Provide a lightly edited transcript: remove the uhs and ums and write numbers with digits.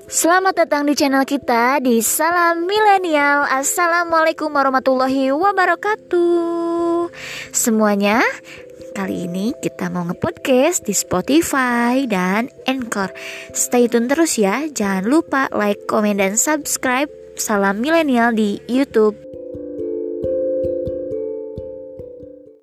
Selamat datang di channel kita di Salam Milenial. Assalamualaikum warahmatullahi wabarakatuh semuanya. Kali ini kita mau nge-podcast di Spotify dan Anchor. Stay tune terus ya. Jangan lupa like, komen, dan subscribe Salam Milenial di YouTube.